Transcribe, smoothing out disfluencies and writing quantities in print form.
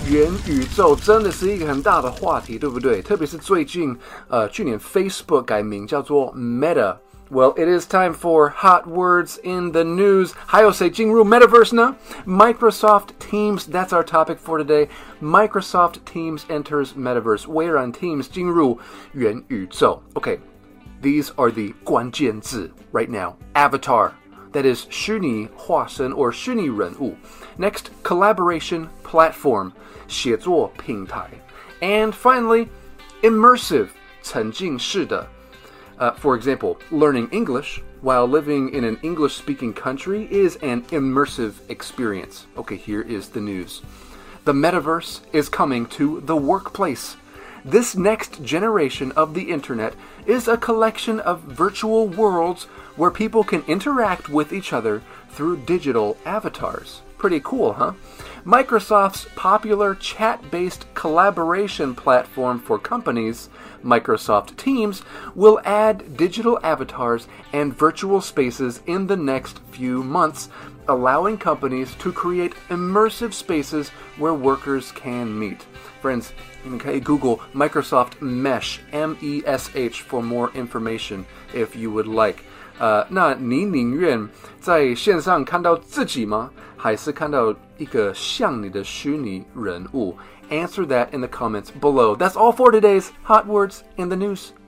元宇宙真的是一个很大的话题，对不对？特别是最近，去年 Facebook 改名叫做 Meta。Well, it is time for hot words in the news. 还有谁进入 Metaverse 呢？ Microsoft Teams, that's our topic for today. Microsoft Teams enters Metaverse. 微软 Teams 进入元宇宙。Okay, these are the 关键字 right now. Avatar, that is 虚拟化身 or 虚拟人物。Next, collaboration platform, 写作平台。And finally, immersive, 沉浸式的。For example, learning English while living in an English-speaking country is an immersive experience. Okay, here is the news. The metaverse is coming to the workplace. This next generation of the internet is a collection of virtual worlds where people can interact with each other through digital avatars. Pretty cool, huh? Microsoft's popular chat-based collaboration platform for companies, Microsoft Teams, will add digital avatars and virtual spaces in the next few months, allowing companies to create immersive spaces where workers can meet. Friends, you can Google Microsoft Mesh, M-E-S-H, for more information if you would like. 那你宁愿在线上看到自己吗？还是看到一个像你的虚拟人物？ Answer that in the comments below. That's all for today's Hot Words in the News.